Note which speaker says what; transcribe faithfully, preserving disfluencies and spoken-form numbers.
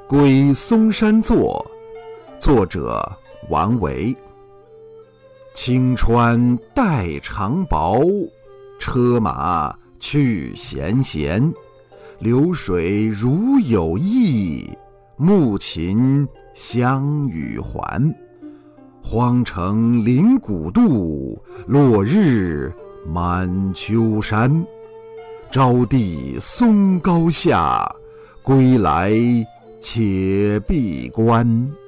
Speaker 1: 归嵩山作，作者王维。青川带长薄，车马去闲闲。流水如有意，暮禽相与还。荒城临古渡，落日满秋山。招弟松高下，归来且闭关。